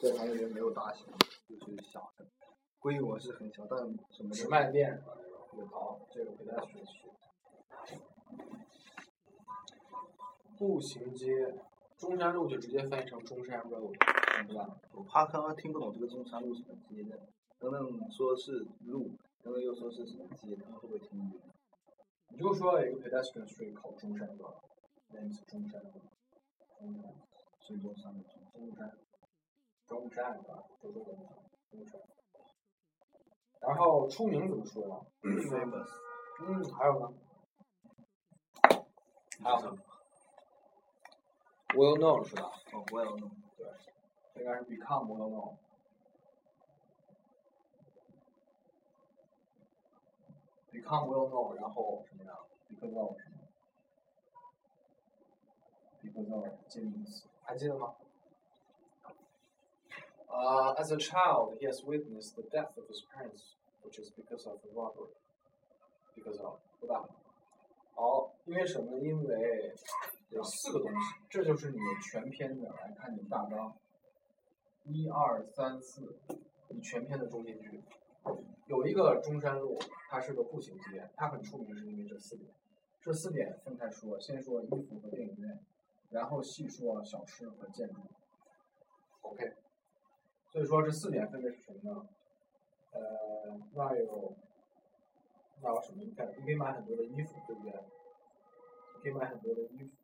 对，它那边没有大小，就是小的，规模是很小，但什么直卖店有好，这个 pedestrian street。步行街，中山路就直接翻译成中山 road， 对吧？ 我怕刚刚听不懂这个中山路什么街的，等等说是路，等等又说是什么街，他们会不会听晕？ 你就说有一个 pedestrian street 靠中山路，那是中山路，中山， 是中山路， 中山啊，就说中山。然后出名怎么说呀 famous。 还有呢？还有呢 ？Well known 是吧？ 哦 ，well known。 对，应该是 become well known。become well known， 然后什么呀 ？because of 什么 ？because of 介名词，还记得吗？As a child, he has witnessed the death of his parents, which is because of the robbery. Because of 对吧？好，因为什么呢？因为有4个东西，这就是你全篇的来看你的大纲。1、2、3、4，你全篇的中心句。有一个中山路，它是个步行街，它很出名是因为这4点。这4点分开说，先说衣服和电影院，然后细说小吃和建筑。OK。所以说这4点分别是什么呢？那有什么？你看，你可以买很多的衣服，对不对？你可以买很多的衣服，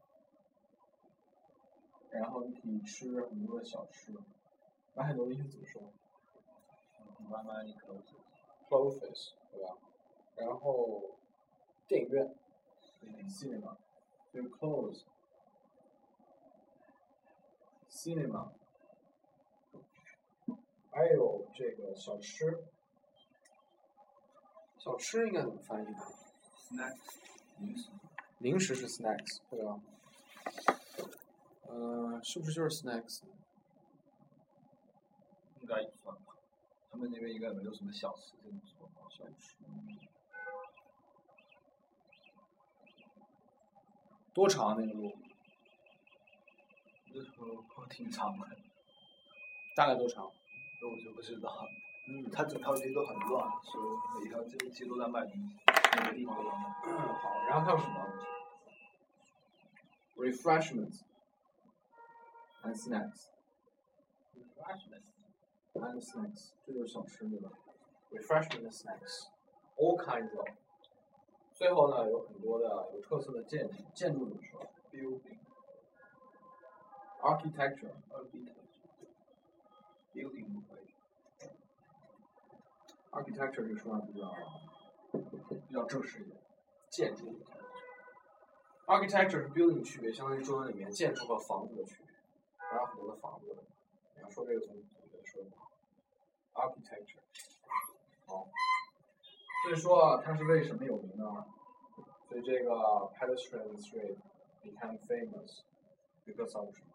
然后你可以吃很多的小吃。买很多的衣服怎么说 ？Buy clothes， 对吧？然后电影院 ，cinema， 就是 clothes，cinema。还有这个小吃，小吃应该怎么翻译呢 ？Snacks， 零食是 snacks， 对吧？是不是就是 snacks？ 应该也算吧。他们那边应该没有什么小吃这种说法。小吃。 多长那个路？ 这挺长的。 大概多长？ 这我就不知道。它整条街都很乱，所以每条街都在卖东西，每个地方都在卖。 好，然后还有什么 ？refreshments and snacks。and snacks， 这就是小吃对吧 ？refreshment and snacks，all kinds of。最后呢，有很多的有特色的建筑，建筑怎么说 ？building 不可以。 architecture 这个说法比较正式一点，建筑。architecture 是 building 区别，相当于中文里面建筑和房子的区别，还有很多的房子。你要说这个总觉得说不好。architecture， 好，所以说它是为什么有名呢？所以这个 pedestrian street became famous because of 什么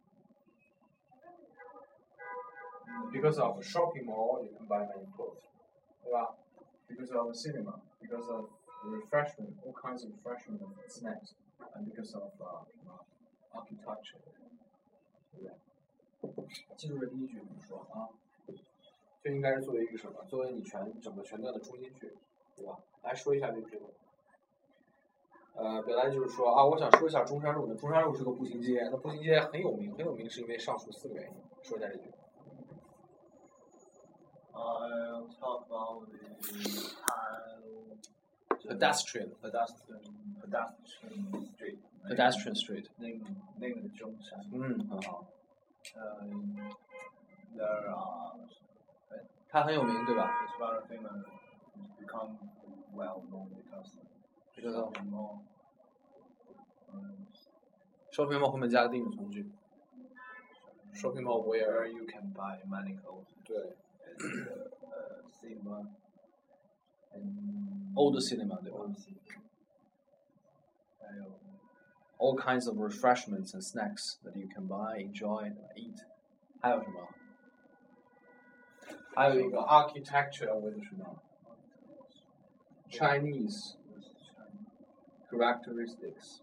？Because of shopping mall, you can buy many clothes. 对吧 ？Because of cinema, because of refreshment, all kinds of refreshment and snacks, and because of architecture， 对不对？记住这第一句怎么说啊？这应该是作为一个什么？作为你整个全段的中心句，对吧？来说一下这个。表达就是说啊，我想说一下中山路。中山路是个步行街，那步行街很有名是因为上述4个原因。说一下这句。 I'll talk about the pedestrian street。 pedestrian street。 那个的中山。 很好。 There are。 它很有名，对吧 ？It's very famous. Become well known because shopping mall。 shopping mall 后面加个定语从句。shopping mall where you can buy many clothes。 对。 cinema。 old cinema 对吧？ 还有 all kinds of refreshments and snacks that you can buy, enjoy, and eat。还有什么？还有一个 architecture with 什么 ？Chinese characteristics。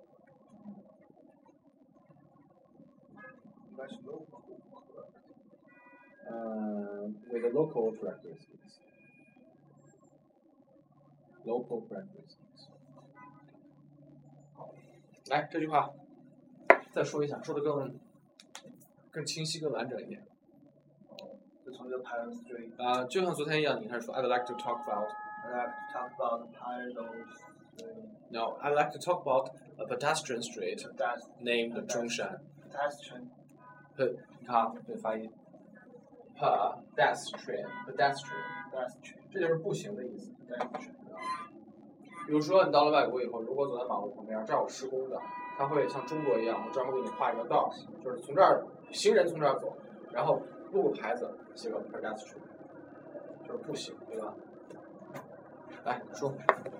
应该是 local。 with the local characteristics. Local characteristics. 好，来这句话再说一下，说的更清晰、更完整一点。 就从这个 Pirate Street。 就像昨天一样，你开始说 I'd like to talk about. I'd like to talk about the Pirate Street. No, I'd like to talk about a pedestrian street named Zhongshan. Pedestrian. 你看啊，这发音。pedestrian， 这就是步行的意思。比如说，你到了外国以后，如果走在马路旁边，这儿有施工的，他会像中国一样，我专门给你画一个道，就是从这儿行人从这儿走，然后路过牌子写个 pedestrian， 就是步行，对吧？来说。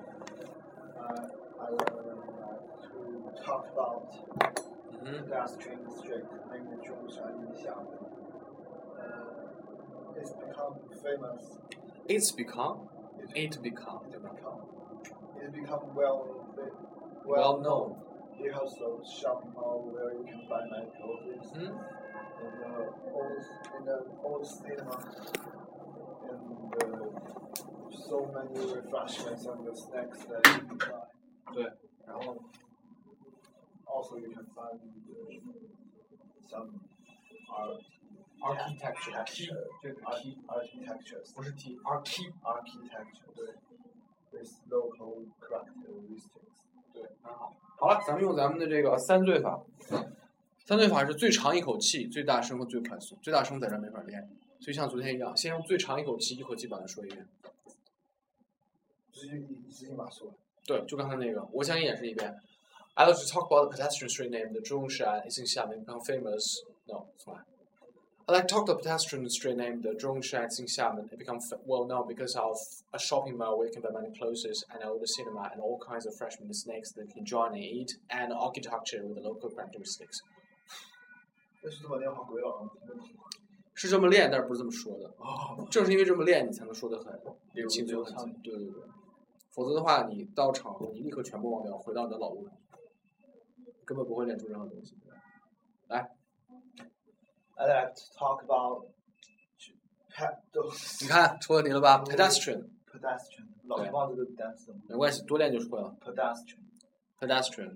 I like to talk about pedestrian street named Zhongshan in Xiamen. It's become famous. It's become,对吧？ It's become well known. It has a shopping mall where you can buy many clothes. In the old cinema, and so many refreshments and the snacks that you can buy. 对， 然后 also you can find some architecture. 这个 architectures 不是 T， architecture 对 with local characteristics 对，很好。好了，咱们用咱们的这个三罪法。三罪法是最长一口气、最大声和最快速。最大声在这儿没法练，所以像昨天一样，先用最长一口气把它说一遍。 直接把说。 对，就刚才那个，我想演示一遍。I'd like to talk about the pedestrian street named Zhongshan. It's in Xiamen, become famous. No, it's fine. I'd like to talk about the pedestrian street named Zhongshan. It's in Xiamen. It become well known because of a shopping mall where you can buy many clothes and old cinema and all kinds of fresh snacks that you can join and eat, and architecture with the local characteristics. 这是这么练好鬼了， 是这么练，但是不是这么说的。正是因为这么练，你才能说得很轻松很轻。对。否则的话，你到场后你立刻全部忘掉，回到你的老路上，根本不会练出任何东西。来 ，I like to talk about 你看戳到你了吧 ？pedestrian， 老是忘这个单词。 没关系，多练就会了。pedestrian。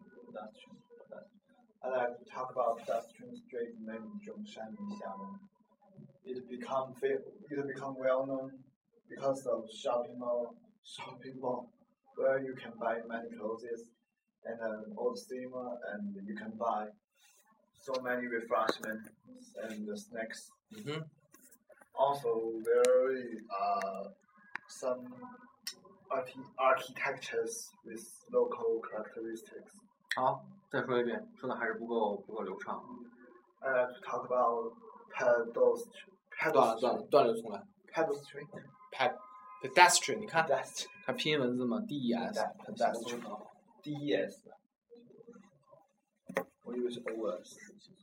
I like to talk about pedestrian street named Zhongshan in Xiamen. It become well known because of shopping mall where you can buy many clothes and an old cinema, and you can buy so many refreshments and snacks. Also, there are some architectures with local characteristics. 好，再说一遍，说的还是不够流畅。 I like to talk about 断了重来。pedestrian， 你看，看拼音文字吗 ？D-E-S， D-E-S， 我以为是 O-S。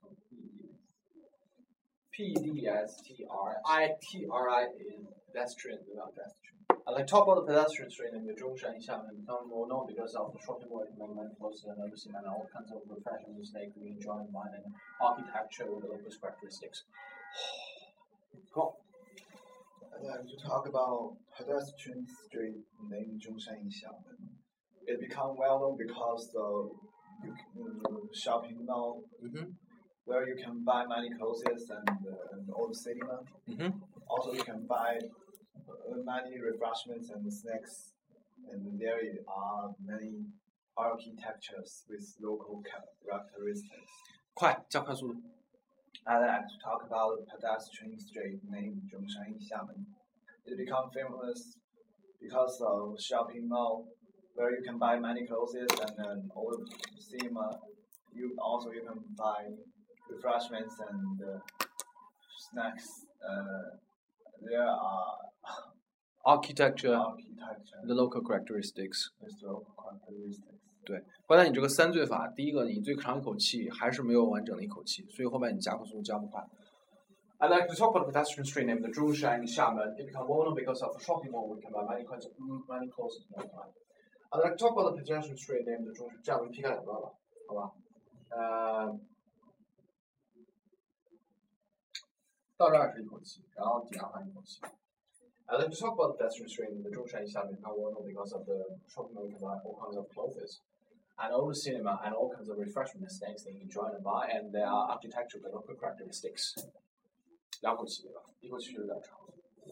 P-D-S-T-R-I-T-R-I-N pedestrian 对吧 ？pedestrian。I like talk about the pedestrian street in the Zhongshan Xiamen become well known because of the shopping mall and many clothes and other cinema and all kinds of refreshments and snacks we enjoy in mind and architecture with the local characteristics. 好。 I like to talk about pedestrian street named Zhongshan in Xiamen. It become well known because the shopping mall where you can buy many clothes and old cinema. Also, you can buy many refreshments and snacks, and there are many architectures with local characteristics. 快，加快速度。 I like to talk about the pedestrian street named Zhongshan in Xiamen. It become famous because of shopping mall where you can buy many clothes and an old cinema. You can buy refreshments and snacks. There are architecture, the local characteristics. 对，刚才你这个三罪法，第一个你最长一口气还是没有完整的一口气，所以后面你加快速度加不快。I'd like to talk about the pedestrian street named the Zhongshan in Xiamen. It became well known because of the shopping mall where you can buy many clothes at one time. I'd like to talk about the pedestrian street named the Zhongshan. 这样我们劈开两段吧，好吧？ 到这儿是一口气，然后抵押还一口气。I'd like to talk about the pedestrian street in the Zhongshan Xiamen Panguo because of the shopping mall you can buy all kinds of clothes, and all the cinema and all kinds of refreshment snacks that you can join and buy, and there are architectural and local characteristics. 两口气对吧？一口气有点长。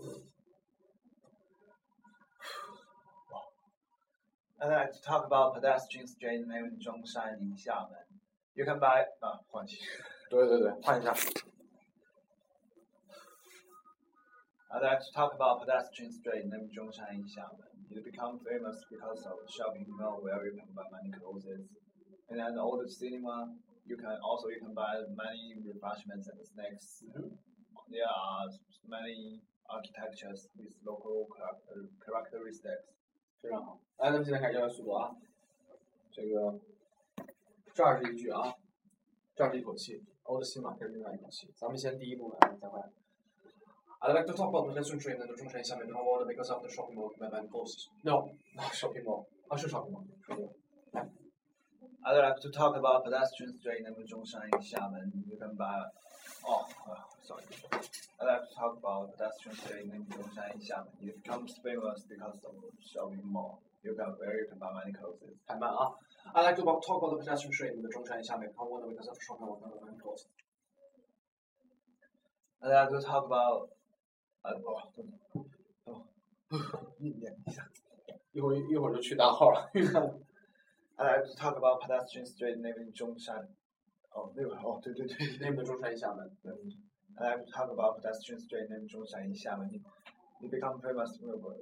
I'd like to talk about pedestrian street named Zhongshan in Xiamen. You can buy 换气。 对，换一下。 I'd like to talk about pedestrian street named Zhongshan in Xiamen. It became famous because of a shopping mall where you can buy many clothes, and an old cinema. You can buy many refreshments and snacks. There are many architectures with local characteristics. 非常好，来，咱们现在开始教学速度啊。这个这儿是一句啊，这儿是一口气，old cinema 这是另外一口气。咱们先第一部分，再回来。I'd like to talk about the pedestrian street in the Zhongshan Xiamen Panguo because of the shopping mall and clothes. No, not shopping mall. 是 shopping mall， 说对了。 I'd like to talk about pedestrian street named Zhongshan in Xiamen. You can buy. Sorry. I'd like to talk about pedestrian street named Zhongshan in Xiamen. It becomes famous because of shopping mall. You can buy many clothes. 太慢啊！ I'd like to talk about the pedestrian street in the Zhongshan Xiamen Panguo because of the shopping mall and clothes. I'd like to talk about. 一会儿就去大号了。 I'd like to talk about pedestrian street named Zhongshan. 对。 named Zhongshan Xiamen. I'd like to talk about pedestrian street named Zhongshan in Xiamen. It became famous.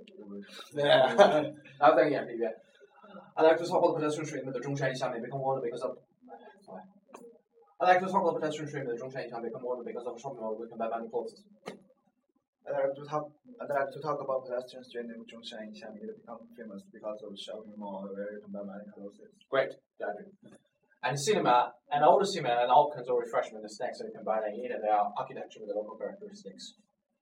然后再演示一遍。I'd like to talk about the pedestrian street named Zhongshan Xiamen because of. I'd like to talk about the pedestrian street named Zhongshan Xiamen because of shopping mall we can buy many clothes. I'd like to talk about pedestrian street named Zhongshan in Xiamen. It became famous because of shopping mall where you can buy many clothes. Great, got it. And cinema, and all the cinema and all kinds of refreshment and snacks that you can buy and eat, and their architecture with the local characteristics.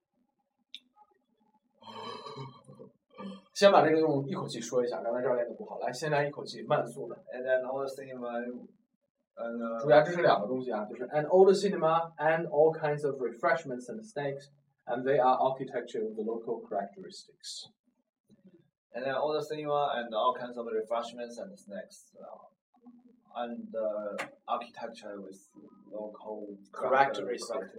先把这个用一口气说一下，刚才这儿练的不好，来，先来一口气慢速的。 And then all the cinema. 注意啊，这是两个东西啊，就是 an old cinema and all kinds of refreshments and snacks, and they are architecture with the local characteristics. And then all the cinema and all kinds of refreshments and snacks, and architecture with local characteristics.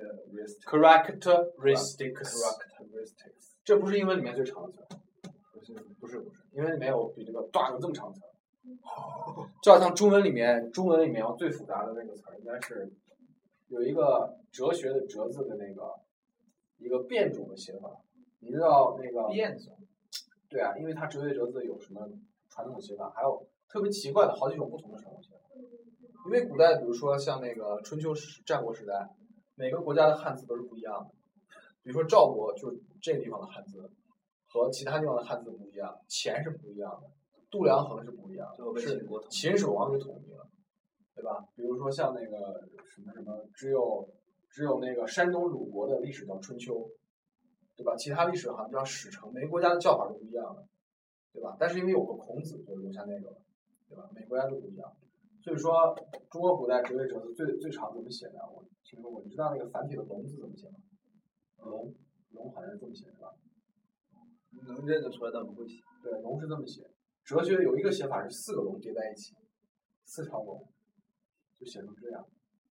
这不是英文里面最长的词，不是，英文里面有比这个有这么长的词。就好像中文里面最复杂的那个词应该是有一个哲学的哲字的那个一个变种的写法，你知道那个变种？ 对啊，因为它哲学哲字有什么传统写法，还有特别奇怪的好几种不同的传统写法。因为古代比如说像那个春秋战国时代，每个国家的汉字都是不一样的。比如说赵国就是这个地方的汉字和其他地方的汉字不一样，钱是不一样的。度量衡是不一样的，是秦始皇给统一了，对吧？比如说像那个什么，只有那个山东鲁国的历史叫春秋，对吧？其他历史好像叫史成，每个国家的叫法都不一样的，对吧？但是因为有个孔子，就留下那个了，对吧？每个国家都不一样，所以说中国古代哲学哲字最长怎么写呢？我听说过，你知道那个繁体的龙字怎么写吗？龙好像是这么写，是吧？ 能认得出来，但不会写。 对，龙是这么写。哲学有一个写法是4个龙叠在一起，4条龙，就写成这样。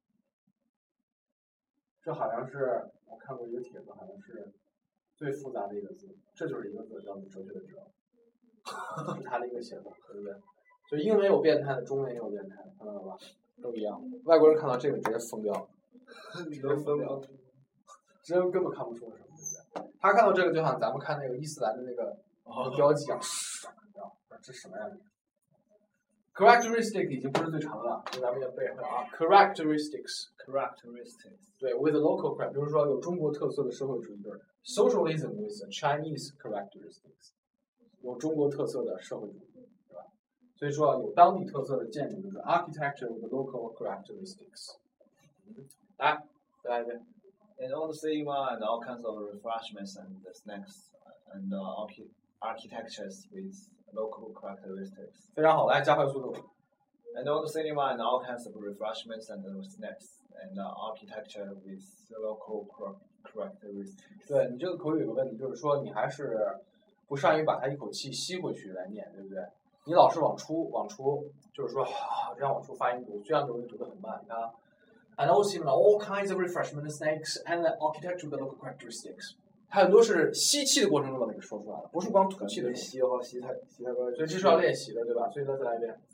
这好像是我看过一个帖子，好像是最复杂的一个字，这就是一个字叫做哲学的哲，是它的一个写法，对不对？所以英文有变态的，中文也有变态的，看到了吧？都一样。外国人看到这个直接疯掉，直接疯掉，直接根本看不出是什么，对不对？他看到这个就像咱们看那个伊斯兰的那个标记一样。这什么呀？Characteristic 已经不是最长了，所以咱们也背会啊。Characteristics， 对 ，with a local character， 比如说有中国特色的社会主义就是 socialism with a Chinese characteristics， 有中国特色的社会主义，对吧？所以说有当地特色的建筑就是 architecture with local characteristics。来，再来一遍。 And all the cinema and all kinds of refreshments and snacks and architectures with local characteristics. 非常好，来加快速度。 And all the cinema and all kinds of refreshments and snacks and architecture with local characteristics. 对你这个口语有个问题，就是说你还是不善于把它一口气吸回去来念，对不对？你老是往出，就是说这样往出发音读，这样就会读得很慢。你看啊 ，and also all kinds of refreshment snacks and the architecture of the local characteristics。它很多是吸气的过程中把它给说出来了，不是光吐气的时候。 吸的话，吸太快。 所以这是要练习的，对吧？所以再来一遍。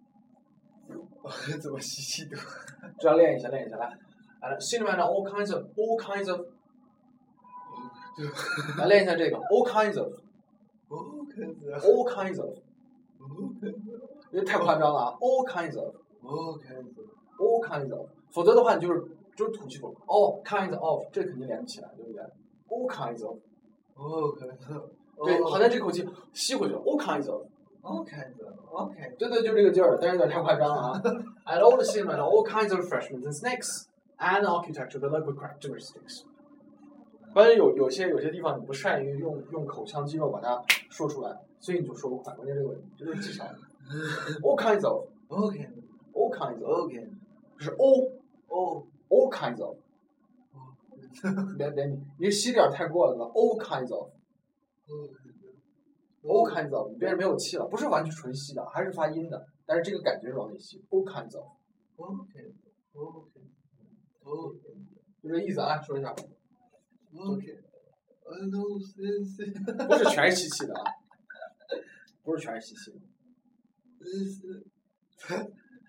怎么吸气读？ 这要练一下来。Cinnamon and all kinds of， 来练一下这个 all kinds of， 因为太夸张了啊 all kinds of， 否则的话你就是吐气口 all kinds of， 这肯定连不起来，对不对 ？all kinds of， 对，好像这口气吸回去了 all kinds of。对，就这个劲儿，但是有点太夸张了啊。And all the cinnamon, all kinds of refreshments and snacks, and architecture, the local characteristics. 关键有些地方你不善于用口腔肌肉把它说出来，所以你就说不快。关键这个问题，这就是技巧。All kinds of, all kinds of， 就是 all kinds of。别，你吸点太过了，all kinds of。All kinds of， 你变成没有气了，不是完全纯吸的，还是发音的，但是这个感觉是往里吸。All kinds of， 就这意思啊，说一下。不是全是吸气的啊，不是全是吸气的。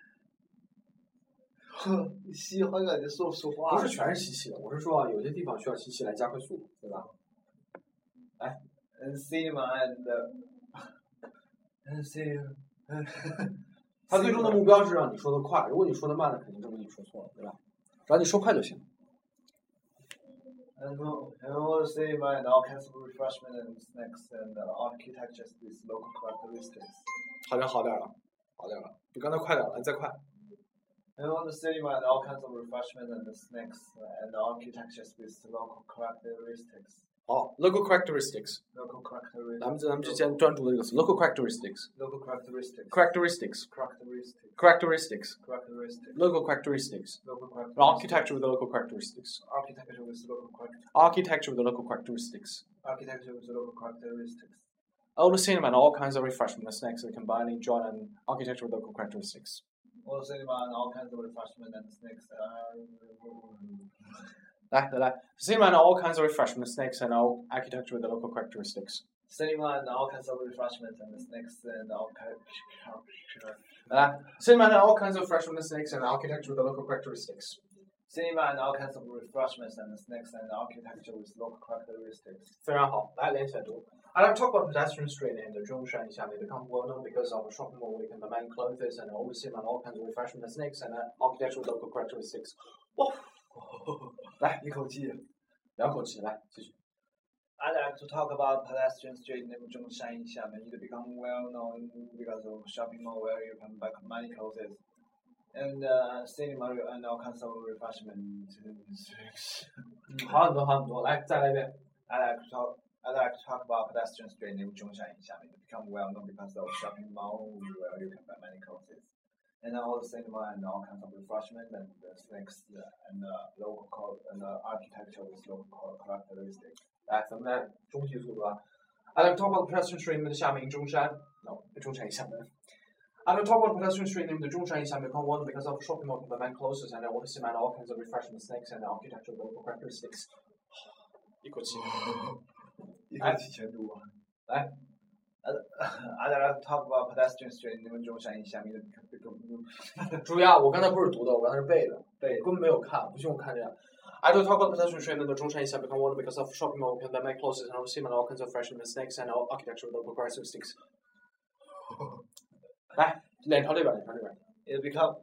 吸好感觉说不出话。 不是全是吸气的，我是说啊，有些地方需要吸气来加快速度，对吧？来。 And cinnamon and cinnamon， 他最终的目标是让你说得快，如果你说得慢了，肯定证明你说错了，对吧？只要你说快就行。 And all cinnamon and all kinds of refreshment and snacks and architecture with local characteristics。 好点了，比刚才快点了，你再快。 And all the cinnamon and all kinds of refreshment and snacks and architecture with local characteristics。 好 ，local characteristics。咱们之前专注的这个词 ，local characteristics。 local characteristics。 characteristics。 characteristics。 local characteristics。architecture with the local characteristics。 architecture with local characteristics。 architecture with the local characteristics。 architecture with local characteristics。 All the cinnamon, all kinds of refreshment and snacks that combining joy and architecture with local characteristics. All the cinnamon, all kinds of refreshment and snacks are。 来 ，cinnamon and all kinds of refreshment and snacks and all architecture with the local characteristics. Cinnamon and all kinds of refreshment and snacks and all characteristics. 来 ，cinnamon and all kinds of refreshment and snacks and architecture with the local characteristics. Cinnamon and all kinds of refreshments and snacks and architecture with local characteristics. 非常好，来连起来读。I like to talk about pedestrian street named Zhongshan Xiamen become well known because of a shopping mall where you can buy many clothes and all the cinnamon and all kinds of refreshment and snacks and architecture with local characteristics. 哇！来， 一口气， 两口气，来继续。 I like to talk about pedestrian street named Zhongshan Xiamen. It become well known because of shopping mall where you can buy many clothes and cinema and all kinds of refreshment. 好很多，来再来一遍。 I like to talk about pedestrian street named Zhongshan Xiamen. It become well known because of shopping mall where you can buy many clothes and all the cinema and all kinds of refreshment and snacks and local and architecture with local characteristics. 来，咱们来中级速度啊。I like to talk about the pedestrian street named Xiamen Zhongshan. No, Zhongshan Xiamen. I like to talk about the pedestrian street named Zhongshan Xiamen become one because of shopping mall with many clothes and all the cinema and all kinds of refreshment snacks and architecture with local characteristics. 一口气。 一口气全读完。 来。 I like to talk about pedestrian street named Zhongshan Xiamen. 注意啊，我刚才不是读的，我刚才是背的，根本没有看，不信我看这样。I like to talk about pedestrian street named Zhongshan Xiamen become one because of shopping mall with many clothes and all cinema and all kinds of refreshment snacks and architecture with local characteristics. 来，脸朝这边。 It become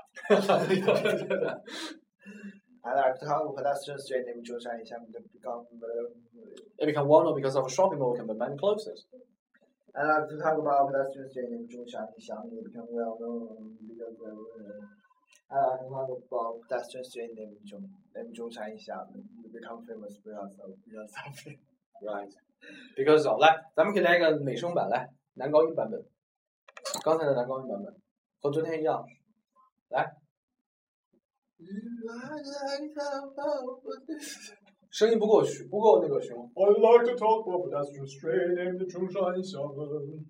I like to talk about pedestrian street named Zhongshan Xiamen It become well known because of a shopping mall with many clothes. I like to talk about pedestrian street named Zhongshan Xiamen. It become well known because I like to talk about pedestrian street named Zhongshan Xiamen. It become famous because of it. Right. Because of 来，咱们可以来一个美声版，来男高音版本。刚才的男高音版本和昨天一样，来。 声音不够那个凶。 I'd like to talk about pedestrians train named Zhongshan Xiamen.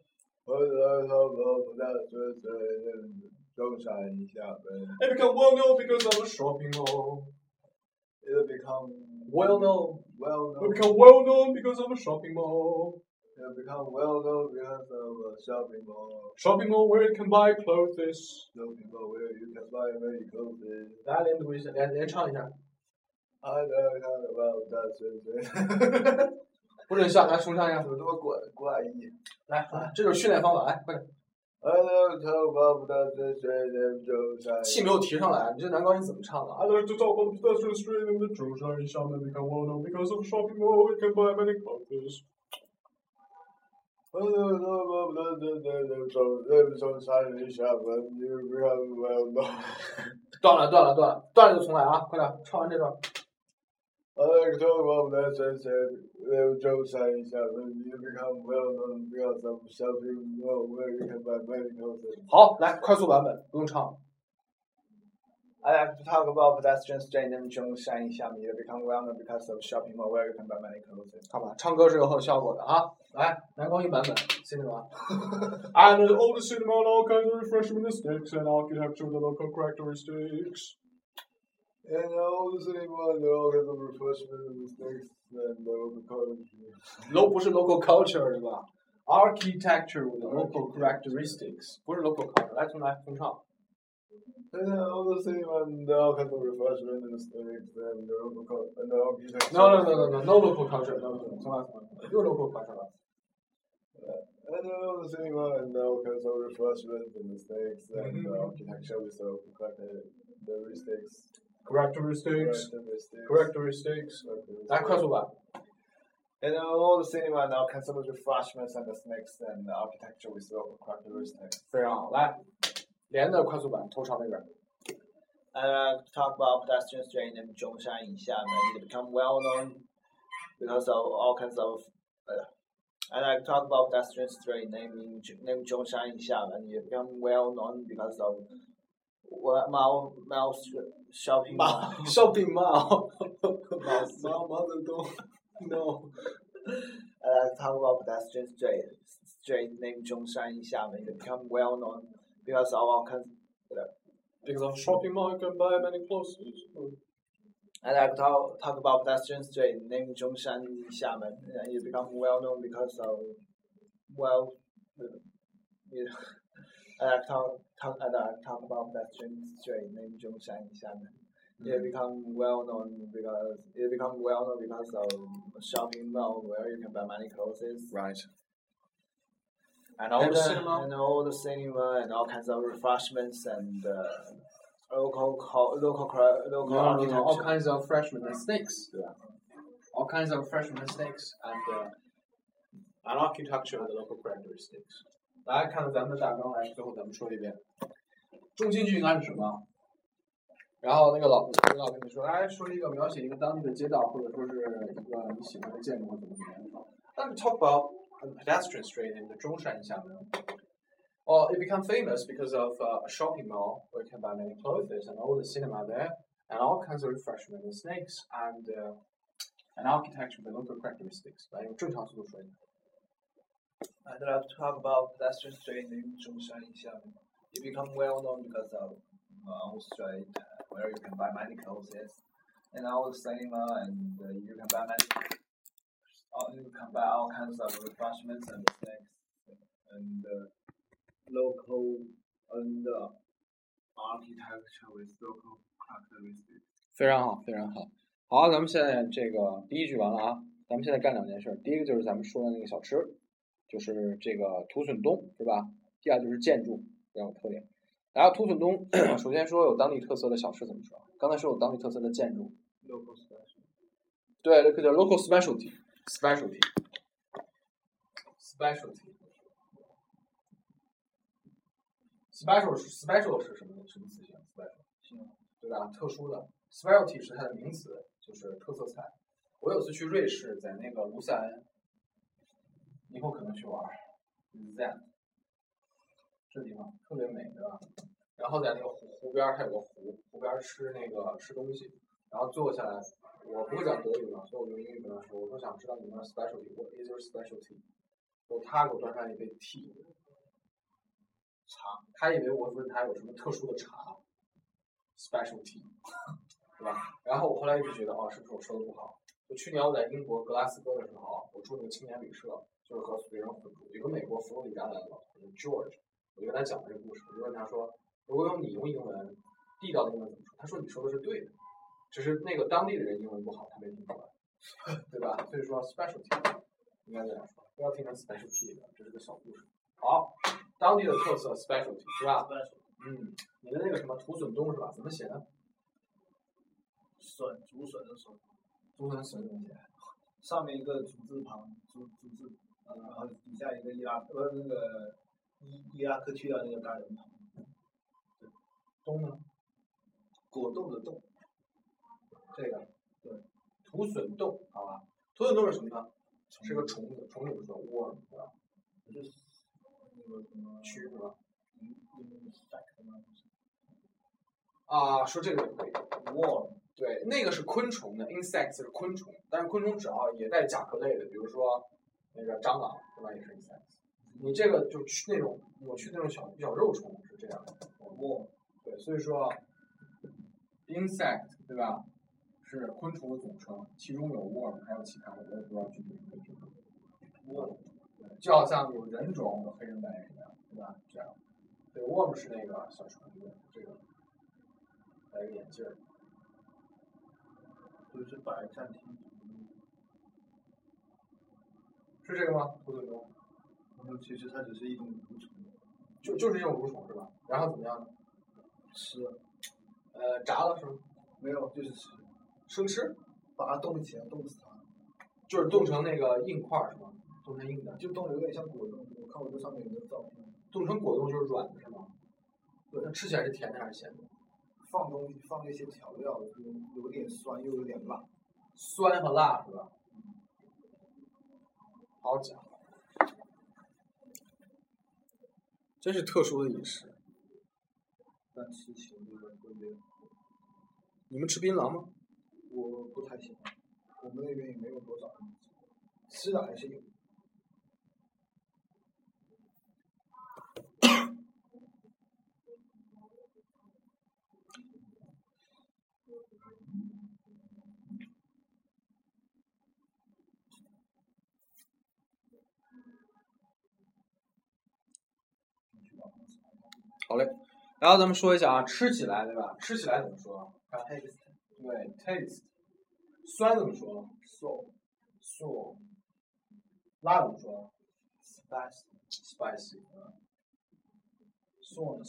It became well known because of a shopping mall. It become Well known. It became well known because of a shopping mall. It become well known because of a shopping mall. Shopping mall where you can buy clothes. Shopping mall where you can buy many clothes. 大家连读一下，连唱一下。 I don't know about that. 不准笑，来重唱一下。 怎么这么怪异？ 来，这就是训练方法，来，快点。 I don't know about that. 气没有提上来，你这男高音怎么唱的？ I'd like to talk about pedestrians train named Zhongshan Xiamen. Become well known because of a shopping mall where you can buy many clothes. I don't know about that. You become well known. 断了就重来啊！快点，唱完这段。 I like to talk about that. You become well known because of shopping mall where you can buy many clothes. 好，来快速版本，不用唱。 I like to talk about pedestrians train named Zhongshan Xiamen. You become well known because of shopping mall where you can buy many clothes. 看吧，唱歌是有效果的啊！来，男高音版本，新的吗？ And an old cinema and all kinds of refreshment sticks and architecture with the local characteristics. And all the cinema and all kinds of refreshment mistakes and local culture. 不是 local culture 对吧 ？Architecture with local characteristics， 不是 local culture。来，重唱。 And all the cinema and all kinds of refreshment mistakes and local and architecture. No local culture， 重来，又 local culture 了。 And all the cinema and all kinds of refreshment mistakes and architecture with local characteristics. Characteristics， 来快速版。 And all the cinema and all kinds of refreshments and snakes and architecture with local characteristics. 非常好，来，连的快速版，头朝那边。 Talk about pedestrian train named Zhongshan Xiamen. It become well known because of all kinds of. And I talk about pedestrian train named Zhongshan Xiamen. It become well known because of mall shopping mall. Shopping mall. Mother don't know. And I talk about pedestrian train named Zhongshan Xiamen. It become well known because of all kinds. Because of shopping mall, you can buy many clothes. And I talk about pedestrian train named Zhongshan Xiamen. It become well known because of and I talk about pedestrian train named Zhongshan Xiamen. It become well known because of shopping mall where you can buy many clothes. Right. And all the cinema. And all the cinema and all kinds of refreshments and local architecture. All kinds of freshman snakes. Yeah. All kinds of freshman snakes and architecture with local characteristics. 来看看咱们的大纲，来最后咱们说一遍。中心句应该是什么？然后那个老跟你说，来说一个描写一个当地的街道，或者说是一个你喜欢的建筑或怎么样。Let's talk about a pedestrian street in the Zhongshan Xiamen. Well, it became famous because of a shopping mall where you can buy many clothes and all the cinema there, and all kinds of refreshment and snakes and architecture with local characteristics. 来用正常速度说一下。 I'd like to talk about pedestrian street in Zhongshan Xiamen. It become well known because of our street where you can buy many clothes and our cinema and you can buy all kinds of refreshments and snacks and local and architecture with local characteristics. 非常好，非常好。好，咱们现在这个第一句完了啊，咱们现在干两件事。第一个就是咱们说的那个小吃，就是这个土笋冻，是吧？第二就是建筑比较有特点。然后土笋冻，首先说有当地特色的小吃怎么说？刚才说有当地特色的建筑。 Local special. 对，这个叫 local specialty。specialty 是什么词性 ？special 对吧？特殊的 specialty 是它的名词，就是特色菜。我有次去瑞士，在那个卢塞恩，以后可能去玩。Zen 这地方特别美，对吧？然后在那个湖边，它有个湖边吃东西，然后坐下来， 我不会讲德语嘛，所以我用英语跟他说，我说想知道你们的 specialty，what is your specialty？ 然后他给我端上一杯 tea， 茶，他以为我问他有什么特殊的茶 ，specialty， 对吧？然后我后来一直觉得，是不是我说的不好？就去年我在英国格拉斯哥的时候，我住那个青年旅社，就是和别人混住，有个美国佛罗里达来的老头 George， 我就跟他讲了这个故事，我就问他说，如果你用英文，地道的英文怎么说？他说你说的是对的。只是那个当地的人英文不好，他没听出来，对吧？所以说 specialty 应该这样说，不要听成 specialty 的，这是个小故事。好，当地的特色 specialty 是吧？你的那个什么土笋冻是吧？怎么写的？ 竹笋的笋， 竹笋笋怎么写？ 上面一个竹字旁，竹字，然后底下一个伊拉克去掉那个大人旁。 冬呢？ 果冻的冻。 这个对，土笋冻，好吧？土笋冻是什么呢？是个虫子，虫怎么说 ？worm 对吧？ 就是那个什么蛆是吧？说这个也可以 worm， 对，那个是昆虫的 insects 是昆虫，但是昆虫只要也带甲壳类的，比如说那个蟑螂，对吧？也是 insects。你这个就去那种我去那种小肉虫是这样的 worm， 对，所以说 insect 对吧？是昆虫的总称，其中有 worm， 还有其他的，我也不知道具体是什么。worm， 就好像有人种有黑人白人一样，对吧？这样，对 worm 是那个小虫子，这个戴个眼镜儿， 就是白暂停。 是这个吗？土笋冻？ 其实它只是一种蠕虫。 就是这种蠕虫是吧？然后怎么样呢？ 吃。 炸了是吗？ 没有，就是吃。 生吃？ 把它冻起来，冻死它。 就是冻成那个硬块是吗？冻成硬的。 就冻得有点像果冻，我看我这上面有个照片。 冻成果冻就是软的是吗？对，它吃起来是甜的还是咸的？ 放东西，放一些调料，有点酸又有点辣。 酸和辣是吧？好讲。真是特殊的饮食。 但吃起来特别。 你们吃槟榔吗？ 我不太喜欢，我们那边也没有多少人吃的还是有。 好嘞，然后咱们说一下吃起来对吧？吃起来怎么说 ？taste。 对 ，taste。酸怎么说 ？sour。 辣怎么说 ？spicy。 sour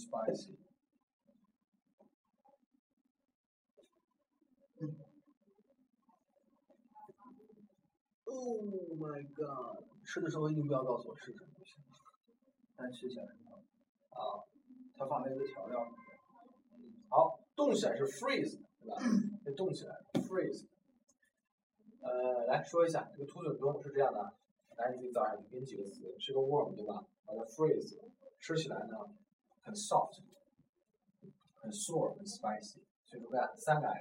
spicy。Oh my god！ 吃的时候一定不要告诉我是什么， 但吃起来很好。它放那个调料。 好，冻起来是 freeze， 对吧？被冻起来 freeze。来说一下这个土笋冻是这样的，来你自己造下去，给你几个词，是个 worm 对吧？把它 freeze， 吃起来呢很 soft， 很 sour， 很 spicy， 所以说看3个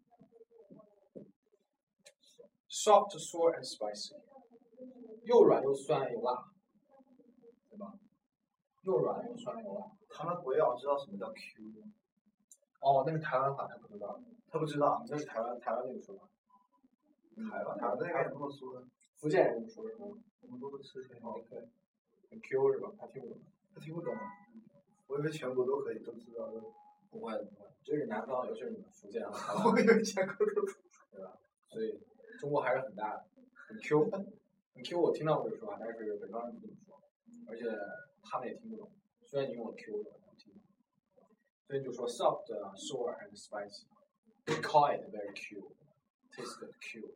s。soft, sour and spicy， 又软又酸又辣，对吧？又软又酸又辣。 他们国要知道什么叫 Q 吗？ 那是台湾话，他不知道。 他不知道， 那是台湾那个说法。 台湾那边也这么说的。 福建人这么说是吗？ 我们都会吃挺好。 对。很 Q 是吧？他听不懂。 他听不懂。我以为全国都可以都知道的。 不会，这是南方，尤其是你们福建和台湾。 我以为全国都知道。 对吧？所以中国还是很大的，很 Q。很 Q， 我听到过这个说法，但是北方人不这么说，而且他们也听不懂。虽然你用了 Q 的，我听不懂。所以你就说 soft, sour and spicy. We call it very Q. Taste Q.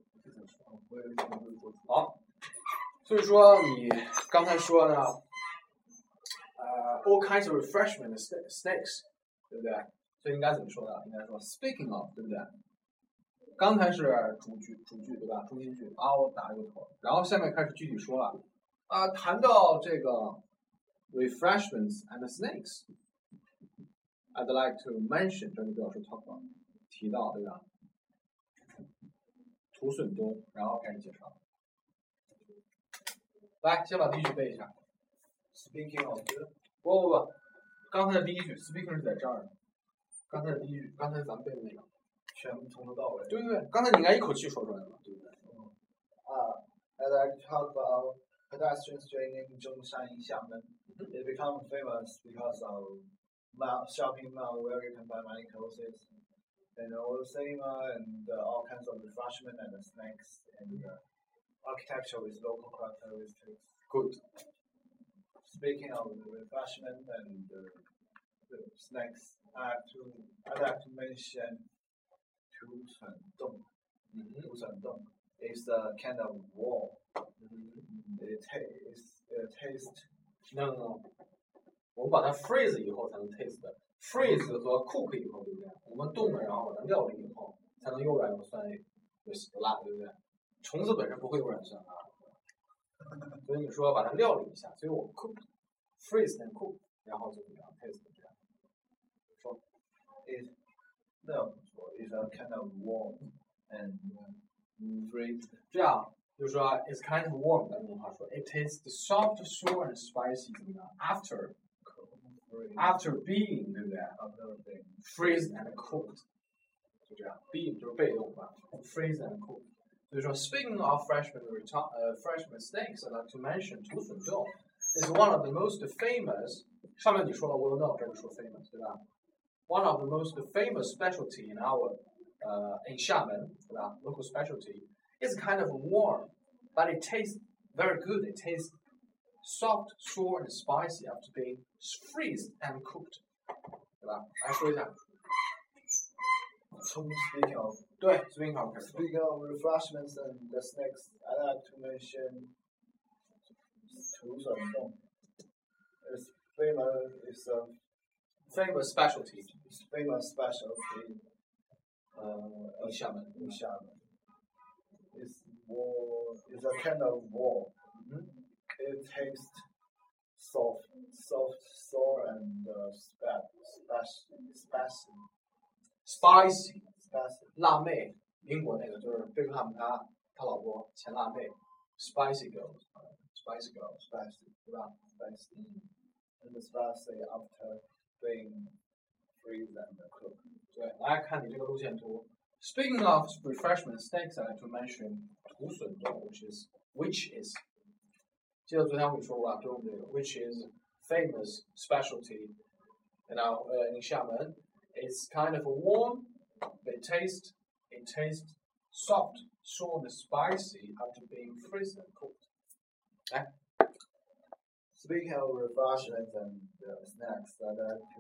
好，所以说你刚才说呢，all kinds of refreshment snacks， 对不对？所以应该怎么说呢？应该说 speaking of， 对不对？刚才是主句对吧？中心句我打了个头，然后下面开始具体说了谈到这个 refreshments and snacks。I'd like to mention， 这里表示 talk about， 提到对吧土笋冻，然后开始介绍。来，先把第一句背一下。 Speaking of 不，刚才的第一句 speaking 是在这儿的。刚才的第一句，刚才咱们背的那个， 全部从头到尾。 对，刚才你应该一口气说出来了，对不对？ I'd like to talk about pedestrian train in Zhongshan in Xiamen. It became famous because of shopping mall where you can buy many clothes and all cinema and all kinds of refreshment and snacks and architecture with local characteristics. Good. Speaking of refreshment and the snacks, I'd like to mention Tushundong. Tushundong is a kind of wall. It tastes. No. 我们把它 freeze 以后才能 taste 的 ，freeze 和 cook 以后，对不对？我们冻了，然后把它料理以后，才能又软又酸又辣，对不对？虫子本身不会又软酸辣，所以你说把它料理一下，所以我 cook、freeze and cook， 然后就怎么样 taste 这样。说 it's a kind of warm and freeze. 这样就是说 it's kind of warm， 咱们话说 it tastes soft, sour and spicy， 怎么样 ？After being， 对不对 ？freeze and cooked， 就这样 ，being 就是被动吧 ，freeze and cooked。所以说 speaking of freshman snacks, I'd like to mention 土笋冻 is one of the most famous。上面你说了 well known， 这里说 famous， 对吧 ？One of the most famous specialty in our in Xiamen， 对吧 ？Local specialty is kind of warm, but it tastes very good. It tastes soft, sour, and spicy after being freezed and cooked， 对吧？来说一下。 Speaking of 对 ，speaking of refreshments and the snacks, I'd like to mention Tushundong. It's a famous specialty famous specialty in Xiamen. in Xiamen. It's a kind of wall. It tastes soft, sour, and spicy. 辣妹，英国那个就是贝克汉姆他老婆前辣妹 ，spicy girl， 对吧 ？spicy. And spicy after being freezed and cooked. 对，来看你这个路线图。Speaking of refreshment snacks, I like to mention 土笋冻 which is， 记得昨天我跟你说过吧，就是这个 which is famous specialty in Xiamen. It's kind of warm. It tastes soft, sour, and spicy after being freezed and cooked. Speaking of refreshments and snacks, I'd like to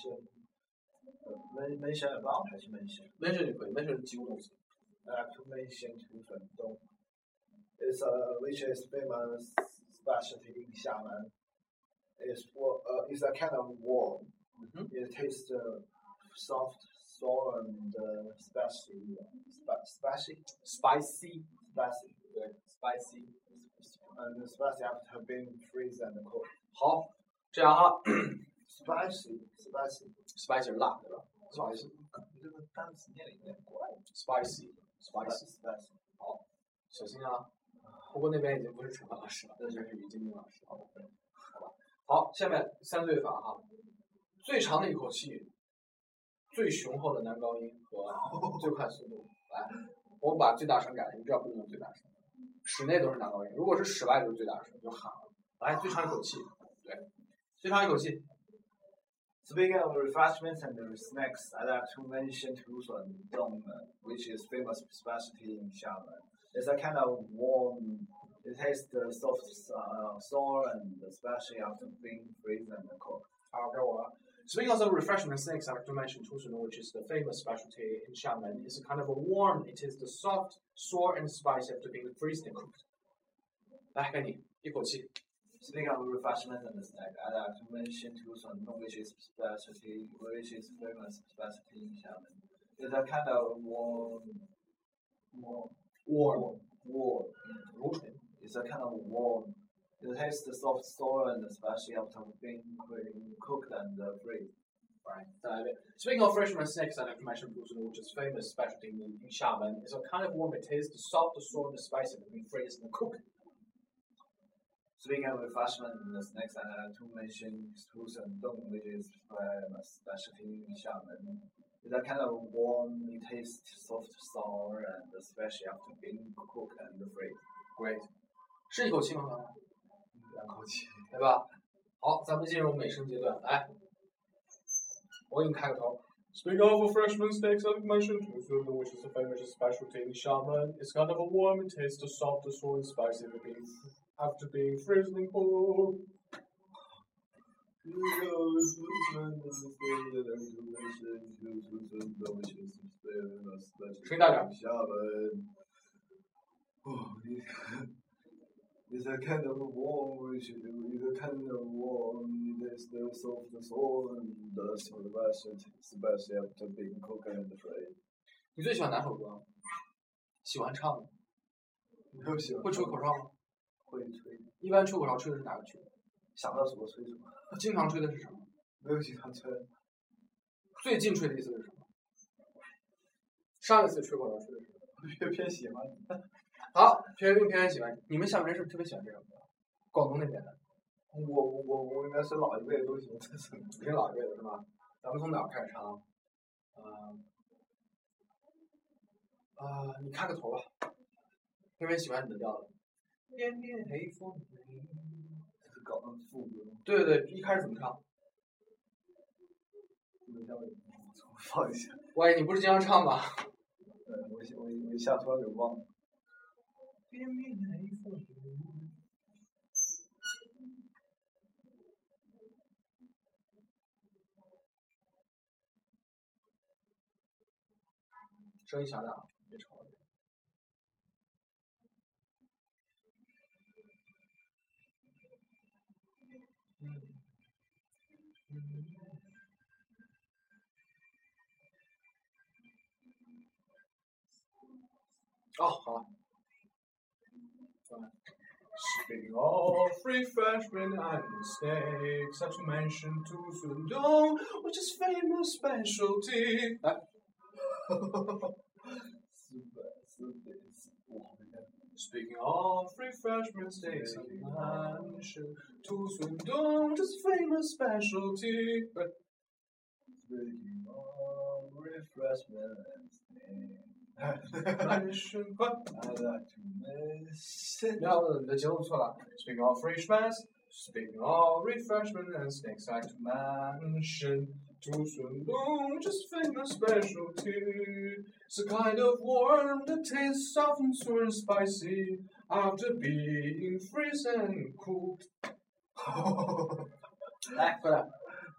mention about 还是 mention 就可以 mention 几个东西。 I'd like to mention 土笋冻 which is famous specialty in Xiamen. It's a kind of warm. It tastes soft, sour, and spicy. 对 spicy and spicy after being freezed and cooked. 好，这样哈 spicy 是辣，对吧 ？spicy 这个单词念的有点怪。 spicy 好，小心啊！不过那边已经不是陈老师了，那就是于金明老师。好吧，好，下面三对法哈，最长的一口气，最雄厚的男高音和最快速度。来，我把最大声改了，你知道不用最大声，室内都是男高音，如果是室外就是最大声，就喊了。来，最长一口气，对，最长一口气。 Speaking of refreshments and snacks, I'd like to mention 土笋冻 which is famous specialty in Xiamen. It's a kind of warm. It tastes soft, sour, and spicy after being freezed and cooked. 好，该我了。Speaking of refreshment snacks, I like to mention 土笋冻 which is the famous specialty in Xiamen. It's kind of a warm. It is the soft, sour, and spicy after being freezed and cooked. 来，该你一口气。 Speaking of refreshments and snacks, I'd like to mention 土笋冻 which is famous specialty in Xiamen. It's a kind of warm. It's a kind of warm. It tastes soft, sour, and spicy after being cooked and freezed. Right. 再来一遍。Speaking of freshman snakes, I'd like to mention Busan, which is famous specialty in Xiamen. It's a kind of warm taste, soft, sour, and spicy between freeze and cook. Speaking of refreshment in the snacks, I like to mention Tusen Dong, which is a specialty in Xiamen. It's a kind of warm taste, soft, sour, and especially after being cooked and freeze. Great. 是一口气吗？ 两口气。 对吧？好，咱们进入美声阶段，来，我给你开个头。 Speaking of freshman steaks, I'd like to mention Tusun, which is a famous specialty in Xiamen. It's kind of a warm taste, soft, sour, and spicy after being freezing cold. It's a kind of warm, it's a kind of warm, it's the soft soul and the especially after being cooked and fried. 你最喜欢哪首歌？喜欢唱的？ 没有喜欢。 会吹口哨吗？ 会吹。 一般吹口哨吹的是哪个曲？ 想到什么吹什么。 经常吹的是什么？ 没有经常吹。 最近吹的一次是什么？上一次吹口哨吹的是什么？ 偏喜欢。 好，偏喜欢。你们厦门人是不是特别喜欢这首歌？广东那边的。 我应该是老一辈的都喜欢这首歌。 你是老一辈的是吧？咱们从哪儿开始唱？你开个头吧。偏喜欢你的调子。点点黑风雷。 这是搞成副歌。 对对对，一开始怎么唱？ 放一下。 喂，你不是经常唱吗？ 我一下突然给忘了。 点点黑风雷。声音小点啊，别吵了。哦，好了。 Speaking of refreshment and snakes, I have to mention Tusun Dong, which is famous specialty. Speaking of refreshment steaks, I mention Tusun Dong, which is famous specialty. Speaking of refreshment and snakes. Mention what? I'd like to mention. No, 你的节奏错了。 Speaking of refreshment and snakes, I'd like to mention Tusun Dong, which is famous specialty. It's a kind of worm that tastes soft and sour and spicy after being freezed and cooked. 来，过来。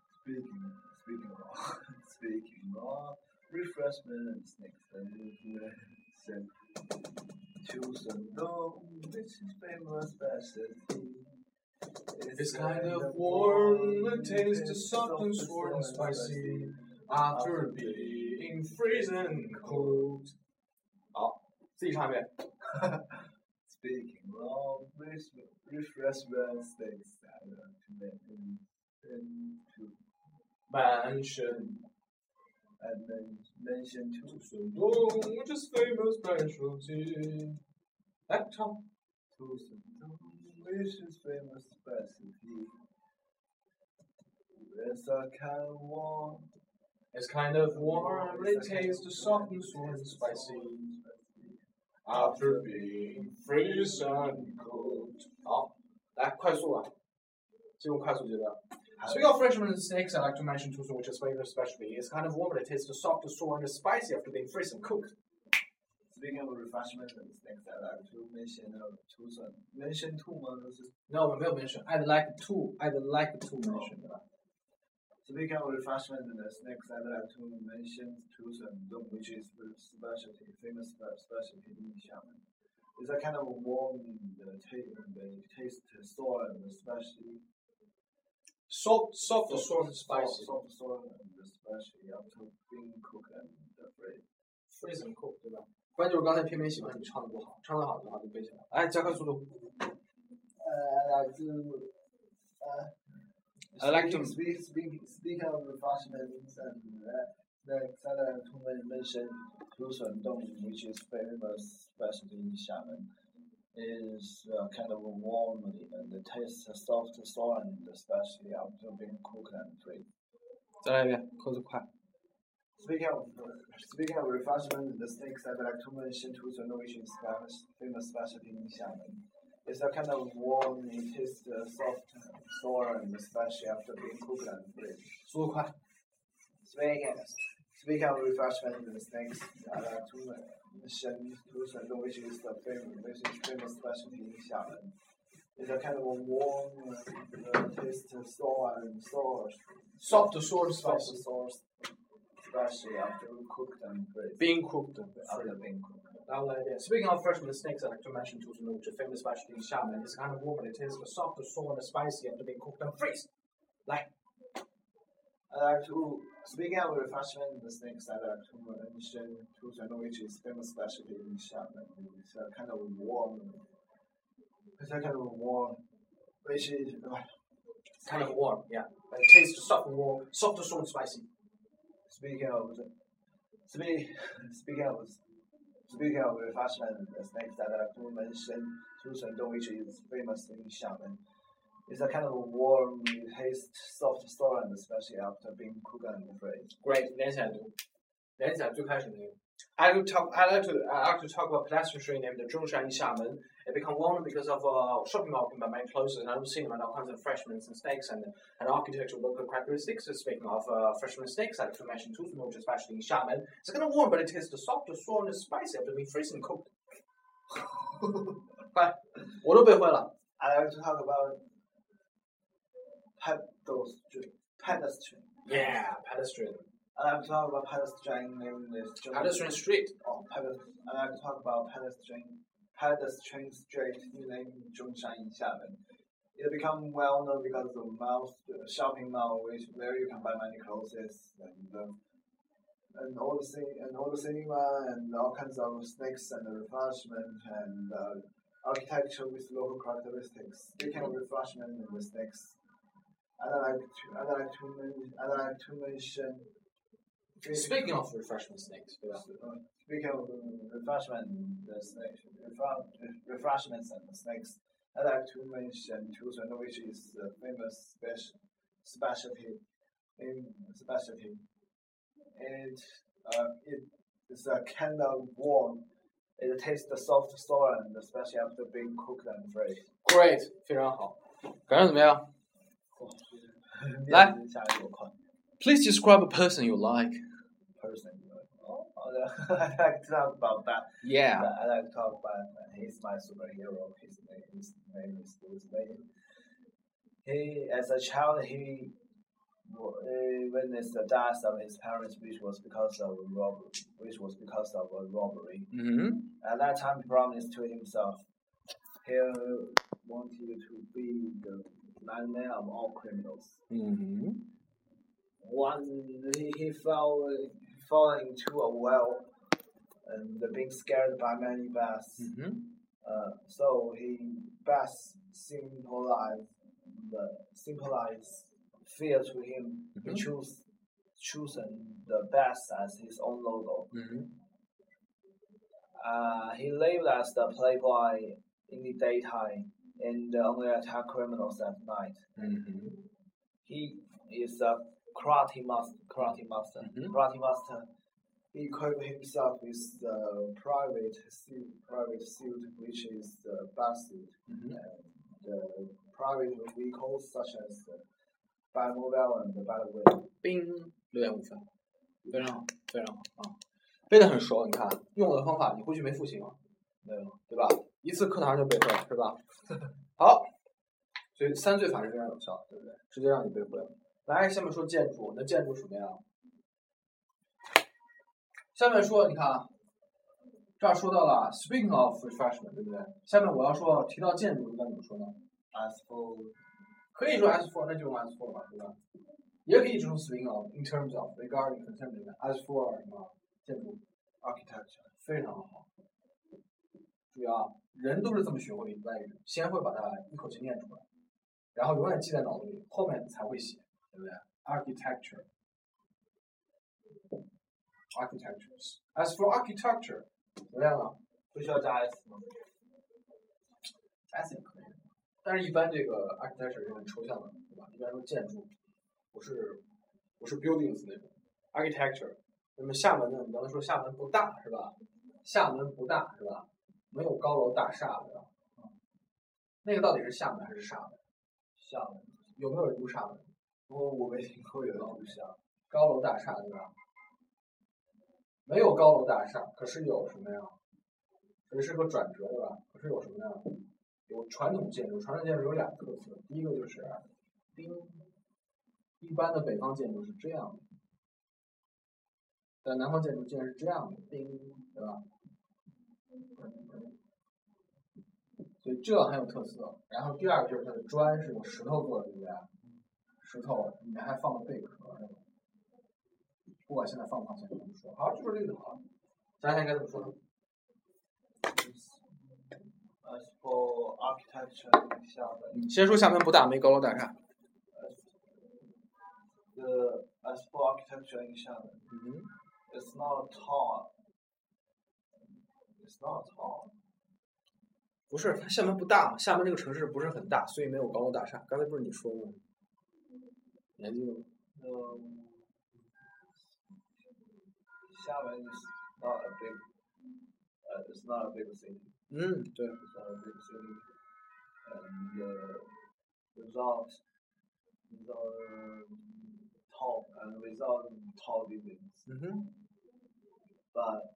Speaking of refreshment and snakes, and mention Tusun Dong, which is famous specialty. It's kind of warm, it tastes soft and sour and spicy after being frozen and cooked. 好，自己唱一遍。 Speaking of refreshment snakes, I like to mention Tusun Dong, which is famous specialty. 来唱。 Tusun Dong, which is famous specialty. It's a kind of warm. It's kind of warm, it tastes soft and sour and spicy after being frozen and cooked. 好，来快速啊，进入快速阶段。Speaking of freshman snakes, I like to mention Tusun, which is famous specialty. It's kind of warm, it tastes soft, sour, and spicy after being freezed and cooked. Speaking of refreshment and snacks, I like to mention Tusun. Mention two 吗？都是。 No， 我没有 mention. I'd like to mention， 对吧？ Speaking of refreshment and snacks, I'd like to mention Tusun Dong, which is specialty, famous specialty in Xiamen. It's a kind of warm taste, sour, and spicy. Soft, sour, and spicy. Soft, sour, and spicy after being cooked and fried. Freeze and cooked，对吧？关键就是刚才偏喜欢你唱的不好，唱的好的话就背起来。来，加快速度。 I like to speak of refreshments and next I'd like to mention Dong, which is famous, especially in Xiamen. Is kind of warm and it tastes soft, sour, and especially after being cooked and fried. 再来一遍，口子快。 Speaking of refreshment, the snacks I'd like to mention which is famous specialty in Xiamen. It's a kind of warm, it tastes soft, sour, and especially after being cooked and fried. 速度快。 Speaking of refreshment, the snacks I'd like to mention which is famous specialty in Xiamen. It's a kind of warm, taste sour and sour. Soft, sour, Soft, spicy. sour, especially after cooked and fried. Being cooked. After being cooked. 然后来一遍。Speaking of freshman snakes, I like to mention which is famous specialty in Xiamen. It's kind of warm and it tastes soft, sour, and spicy after being cooked and freeze. 来。 I like to, speaking of refreshment, the snakes I like to mention which is famous specialty in Xiamen. It's a kind of warm, which is kind of warm, yeah. But it tastes soft and warm, soft, sour, and spicy. Speaking of refreshment, the snakes that I like to mention which is famous in Xiamen. It's a kind of warm, taste soft, sour, and especially after being cooked and fried. Great. 连起来读，连起来最开始那个。I like to talk about pedestrian street named Zhongshan in Xiamen. It became warm because of a shopping mall by many clothes and I've seen all kinds of freshmen and snakes and architectural local characteristics. Speaking of freshman snakes, I like to mention which especially in Xiamen. It's kind of warm, but it tastes soft, sour, and spicy after being freezing cooked. 快，我都背会了。 I like to talk about pedestrian. Yeah, pedestrian. I like to talk about pedestrian named Pedestrian street. I like to talk about pedestrian street named Zhongshan in Xiamen. It become well known because of shopping mall where you can buy many clothes and all the cinema and all kinds of snacks and refreshment and architecture with local characteristics. Speaking of refreshment and the snacks, I'd like to mention. Speaking of refreshment snakes, speaking of refreshment, refreshments and snakes, I'd like to mention which is a famous specialty. It's a kind of warm. It tastes soft, sour, and especially after being cooked and fried. Great， 非常好，感觉怎么样？来 ，Please describe a person you like. I like to talk about that. Yeah. I like to talk about he's my superhero. His name is Bruce Wayne. He, as a child, he witnessed the death of his parents, which was because of a robbery. Mm-hmm. At that time, he promised to himself he wanted to be the madman of all criminals. Mm-hmm. Once he fell into a well and being scared by many bats. Mm-hmm. So he bats symbolize fear to him. Mm-hmm. He chosen the bats as his own logo. Mm-hmm. He lived as the playboy in the daytime and only attack criminals at night. Mm-hmm. He is a karate master. Mm-hmm. Karate master. He equipped himself with the private suit, which is the bat suit. Mm-hmm. The private vehicles such as the Batmobile and the Batwing. 冰6.5分，非常好，非常好啊，背得很熟。你看，用我的方法，你回去没复习吗？没有，对吧？一次课堂就背会了，是吧？好，所以3罪法是非常有效的，对不对？直接让你背会了。来，下面说建筑，那建筑什么样？下面说，你看啊，这儿说到了 speaking of refreshment， 对不对？下面我要说提到建筑应该怎么说呢 ？As for 可以说 as for， 那就用 as for 吧，对吧？也可以只用 speaking of in terms of regarding concerning as for 什么建筑 architecture， 非常好。注意啊，人都是这么学会外语，先会把它一口气念出来， 然后永远记在脑子里，后面才会写，对不对 ？Architectures. As for architecture，怎么样啊？ 不需要加 s 吗？ S 也可以，但是一般这个 architecture 是很抽象的，对吧？一般说建筑，不是 buildings 那种 architecture。那么厦门呢？你刚才说厦门不大是吧？厦门不大是吧？没有高楼大厦对吧？那个到底是厦门还是厦门？ 厦门有没有人读厦门？ 我没听过有人读厦门。 高楼大厦对吧？没有高楼大厦，可是有什么呀？这是个转折对吧？可是有什么呀？有传统建筑，传统建筑有俩特色，第一个就是丁，一般的北方建筑是这样的，但南方建筑竟然是这样的，丁，对吧？所以这很有特色。然后第二个就是它的砖是用石头做的，对不对？石头里面还放了贝壳，不管现在放不放，现在怎么说？好，就说这个就好了。咱现在应该怎么说呢？ As for architecture in 厦门， 先说厦门不大，没高楼大厦。 as for architecture in 厦门，it's not tall. It's not tall. 不是，它厦门不大，厦门这个城市不是很大，所以没有高楼大厦。刚才不是你说的吗？你还记得吗？ 厦门 is not a big. It's not a big city. 对。 It's not a big city. And without tall buildings. But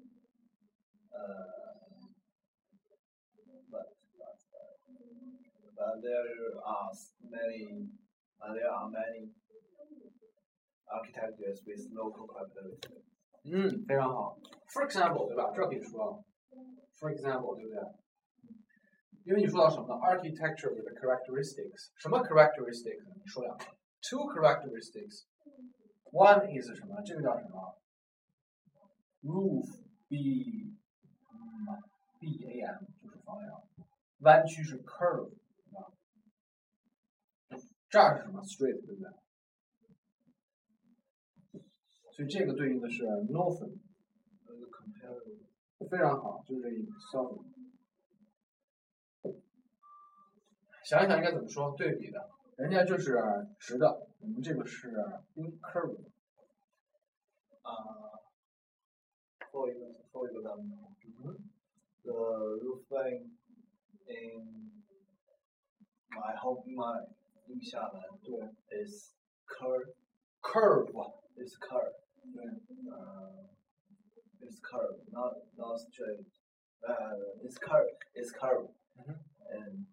there are many architectures with local capability. 非常好。For example， 对吧？这可以说。For example， 对不对？因为你说到什么呢 ？Architecture with characteristics， 什么 characteristics？ 你说两个。Two characteristics。One is 什么？这个叫什么 ？Roof beam， BAM 就是方梁，弯曲是 curve， 对吧？这儿是什么 ？Straight， 对不对？所以这个对应的是 northern， 非常好，就是这意思 southern。想一想应该怎么说对比的？人家就是直的，我们这个是 curve。 For example, the roof line in in 厦门is curve. It's curve. It's curve, not straight. It's curve. It's curve. And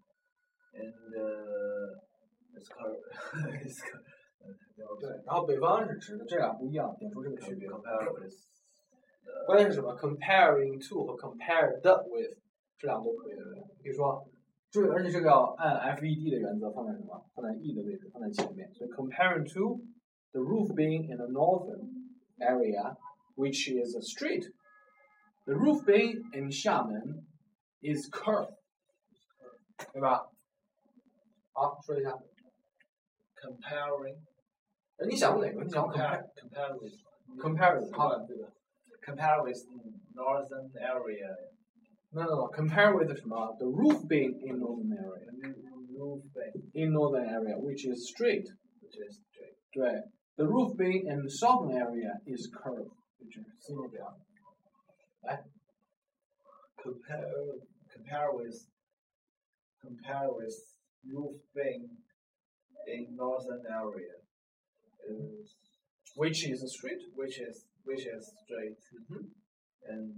it's curve. It's curve. 对，然后北方是直的，这俩不一样，点出这个区别。 Compare with. 关键是什么 ？Comparing to 和 compared with 这两个都可以，对不对？比如说，注意，而且这个要按 FED 的原则放在什么？放在 E 的位置，放在前面。所以 comparing to the roof being in the northern area, which is a street, the roof being in 厦门 is curved， 对吧？好，说一下。 Comparing. 你想过哪个？你想 compare with 好的，对的。 Compare with northern area. No. Compare with 什么 ？The roof being in northern area. Roof being in northern area, which is straight. which is straight. 对 ，the roof being in southern area is curved. 就是思路这样。来 compare with roof being in northern area is which is straight. which is straight. And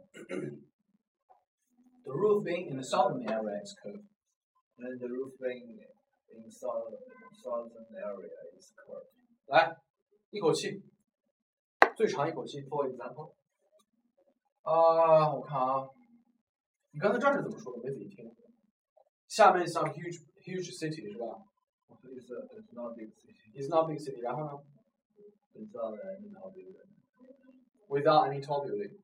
the roof being in the southern area is curved. and the roof being in southern area is curved. 来，一口气，最长一口气。For example， 我看啊，你刚才这儿是怎么说的？没仔细听。厦门 is not huge city 是吧 It's not big city. ？It's not big city。然后呢 Without any tall building. ？Without any tall building。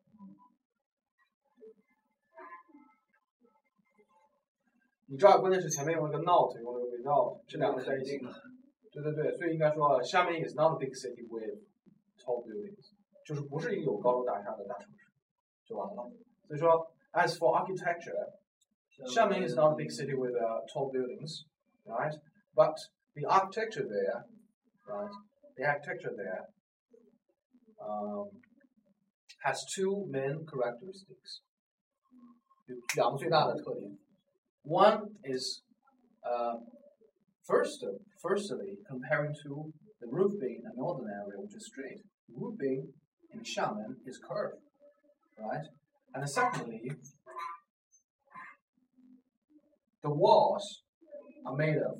你这儿关键是前面用了个 not， 用了个 without， 这两个在一起。对，所以应该说厦门 is not a big city with tall buildings， 就是不是一个有高楼大厦的大城市，就完了。所以说 ，as for architecture， 厦门 is not a big city with tall buildings, right? But the architecture there, right? The architecture there has two main characteristics. 有两个最大的特点。One is firstly, comparing to the roof being a northern area which is straight, the roof being in Xiamen is curved, right? And secondly, the walls are made of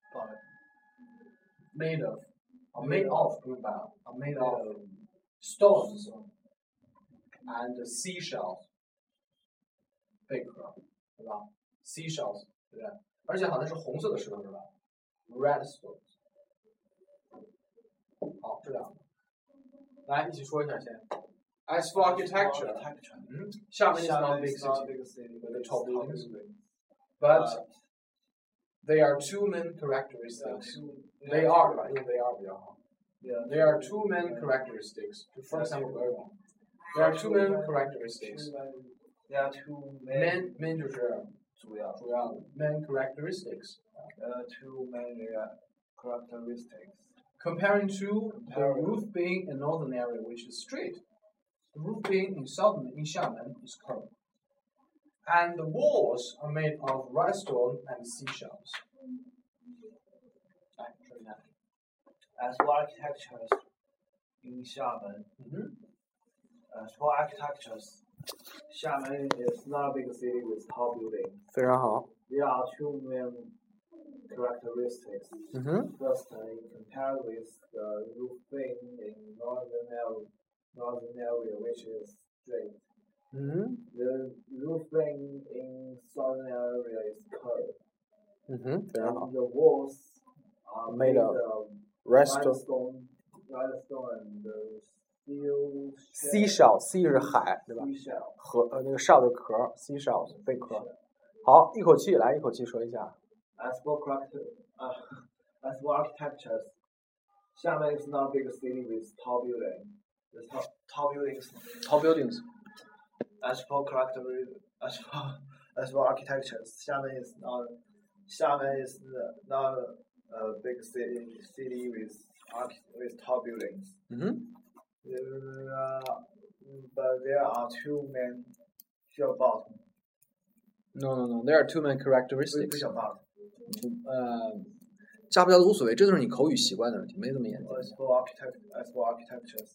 stones and seashells 贝壳，对吧 ？seashells 对不对？而且好像是红色的石头是吧 ？red stones。好，这两个，来一起说一下先。As for architecture, 厦门 is not a big city with the tall buildings, but they are two main characteristics. They are 吧，因为 they are 比较好。There are two main characteristics. For example, there are two main characteristics. There are two main 就是主要的 main characteristics. Two main characteristics. Comparing to the roof being in northern area which is straight, the roof being in Xiamen is curved, and the walls are made of rhinestone and seashells. 来说一下。 As for architectures in Xiamen, Xiamen is not a big city with tall buildings. 非常好。 There are two main characteristics. Firstly, compared with the roof being in northern area which is straight. The roof being in southern area is curved. And the walls are made of limestone and seashell sea 是海，对吧？河那个 shell 的壳 ，seashells 贝壳。好，一口气来，一口气说一下。 As for architectures, Xiamen is not a big city with tall buildings. Tall buildings. As for architectures, Xiamen is not a big city with tall buildings. But there are two main No. There are two main characteristics. 加不加都无所谓，这就是你口语习惯的问题，没这么严谨。 As for architectures,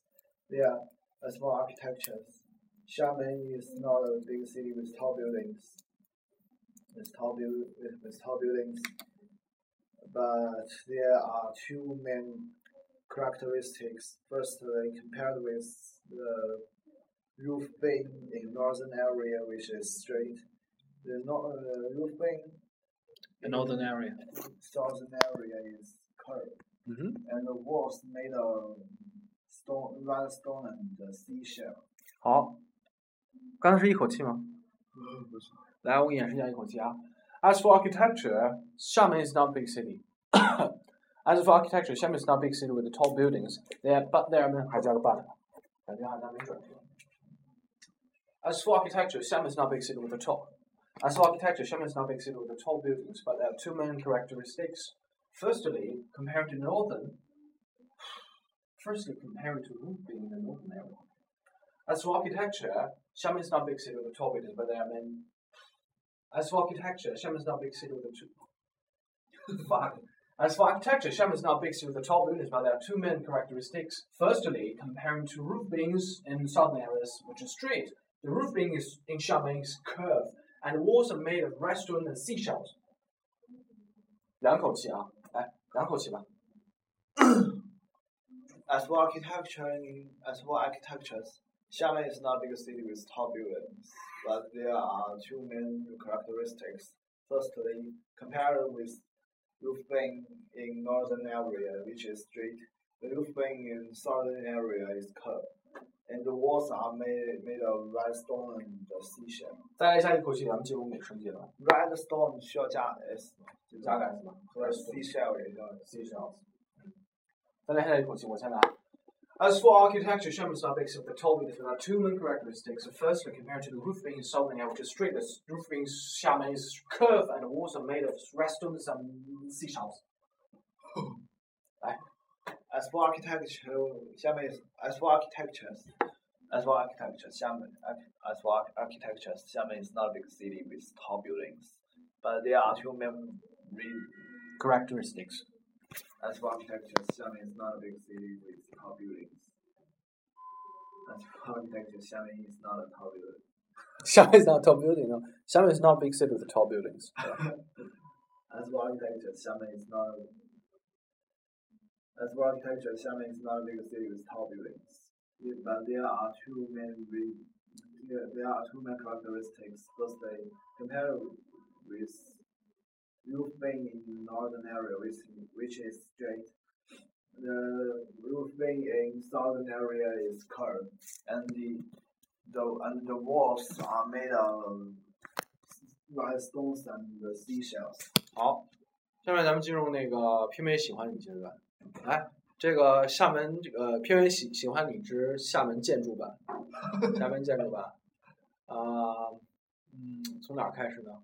Xiamen is not a big city with tall buildings. With tall buildings, but there are two main characteristics. Firstly, compared with the roof being in northern area, which is straight, the roof being in northern area, southern area is curved, and the walls made of limestone and seashell. 好，刚才是一口气吗？不是。来，我给你演示一下一口气啊。As for architecture, Xiamen is not a big city. As for architecture, Xiamen is not a big city with the tall buildings. But there are 还加个 but， 感觉好像没准。As for architecture, Xiamen is not a big city with the tall. As for architecture, Xiamen is not a big city with the tall buildings, but there are two main characteristics. Firstly, compared to roof being in the northern area. As for architecture, Xiamen is not a big city with the tall buildings, but there are many. As for architecture, Xiamen is not a big city with the two. Fuck. As for architecture, Xiamen is not a big city with the tall buildings, but there are two main characteristics. Firstly, comparing to roof beams in southern areas, which is straight, the roof beam in Xiamen is curved, and the walls are made of rhinestone and seashells. 两口气啊，来，两口气吧。 As for architectures, Xiamen is not a big city with tall buildings, but there are two main characteristics. Firstly, compared with roof beam in northern area, which is straight, The roof being in southern area is curved, and the walls are made of red stone and seashell. 再来下一口气，咱们进入美声阶段。 Red stone 需要加 s 吗？ 加个 s 吗？ 和 seashell 也叫 seashells。再来下一口气，我先来。As for architecture, Xiamen is not big, except the tall buildings without two main characteristics. Firstly, compared to the roof being in southern area, which is straight, the roof being Xiamen is curved and the walls are made of red stones and seashells. As for architecture, Xiamen is Xiamen is not a big city with tall buildings, but there are two main characteristics. As for architecture, Xiamen is not a big city with tall buildings. As for architecture, Xiamen is not a tall building. Xiamen is not a tall building. No, Xiamen is not a big city with tall buildings. As for architecture, Xiamen is not a big city with tall buildings. But there are two main characteristics. Firstly, compared with roof being in northern area, which is straight, the roof being in southern area is curved, and the walls are made of red stones and seashells. 好，下面咱们进入那个片尾喜欢你阶段。来，这个厦门片尾喜欢你之厦门建筑版，厦门建筑版，从哪儿开始呢？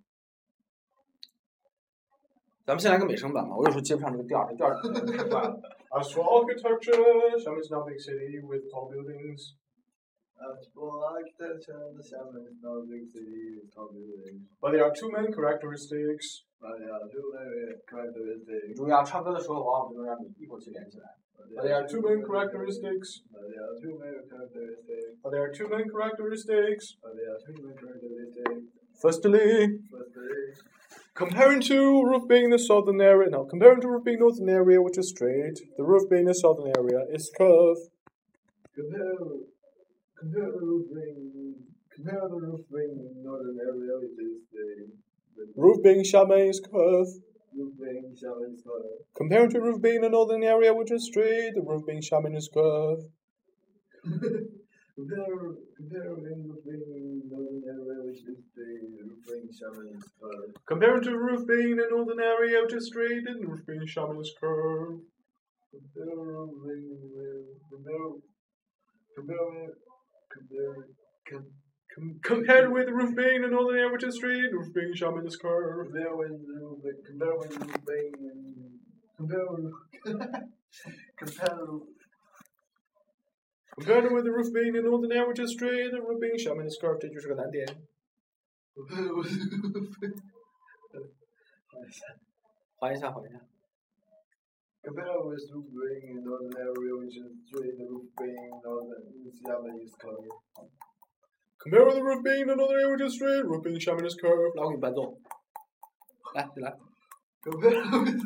咱们先来个美声版吧，我有时候接不上这个调，这调太快了。As for architecture, Xiamen is not a big city with tall buildings. As for architecture, Xiamen is not a big city with tall buildings. But there are two main characteristics. 注意啊，唱歌的时候往往不能让你一口气连起来。But there are two main characteristics. Firstly, comparing to roof being in the southern area, comparing to roof being northern area, which is straight, the roof being in the southern area is curved. Compare the roof being in northern area, which is the roof being Xiamen is curved. Roof being Xiamen is curved. Comparing to roof being in the northern area, which is straight, the roof being Xiamen is curved. Comparing roof being in northern area, which is straight, the roof being Xiamen is curved. Comparing to roof being in the northern area, which is straight, and the roof being Xiamen is curved. Compared with the roof being in the northern area, which is straight, the roof being Xiamen is curved. Compared with the roof being in the northern area, which is straight, the roof being Xiamen is curved. 这就是个难点。缓一下。 Compared with roof being in northern area, which is straight, the roof being Xiamen is curved. Compare with the roof being in the northern area, which is straight, roof being Xiamen is curved. 来，我给你伴奏。来，你来。 Compare with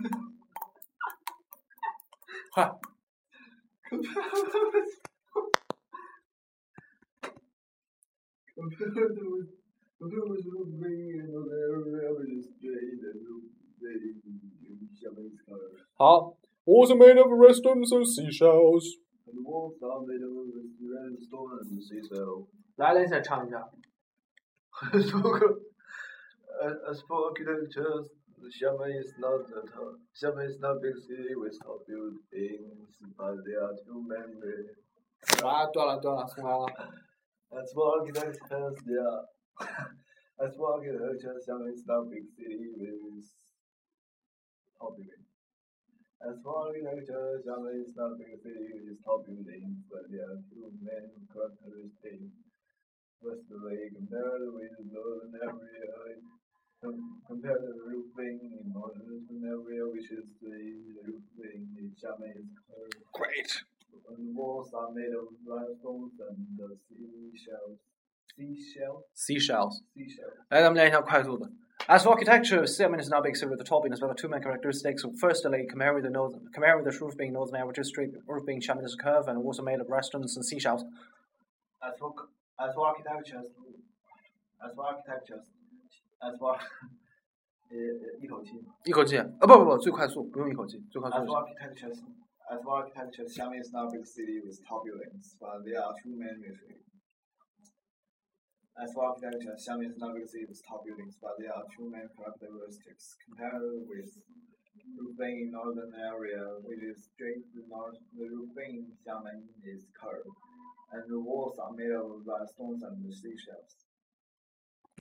快。 Compare with roof being in northern area, which is straight, the roof being Xiamen is curved. 好。Walls are made of red stones and seashells. And the walls are made of red stone and seashells. 来，连起来唱一下。 As for architecture, Xiamen is not a big city with tall buildings, but there are two main. 啊，断了，重来了。 As for architecture, Xiamen is not a big city with tall buildings. As for architecture, Xiamen is not a big city with tall buildings, but there are two main characteristics. Firstly, compared with northern area, compared to the roof being in northern area, which is the roof being in Xiamen is curved. Great. And the walls are made of limestone and seashells. 来，咱们练一下快速的。As for architecture, Xiamen is not big city with the tall buildings, but the two main characteristics. Firstly, compared with the roof being northern area, which is straight, roof being Xiamen is curved, and also made of red stones and seashells. As for architecture, 一口气。 一口气，不，最快速，不用一口气，最快速。 As for architecture, As for architecture, Xiamen is not a big city with tall buildings, but there are two main reasons. As for architecture, Xiamen is not a big city with tall buildings, but there are two main characteristics. Compared with Rubin in northern area, which is straight to north, the Rubin in Xiamen is curved, and the walls are made of stones and seashells.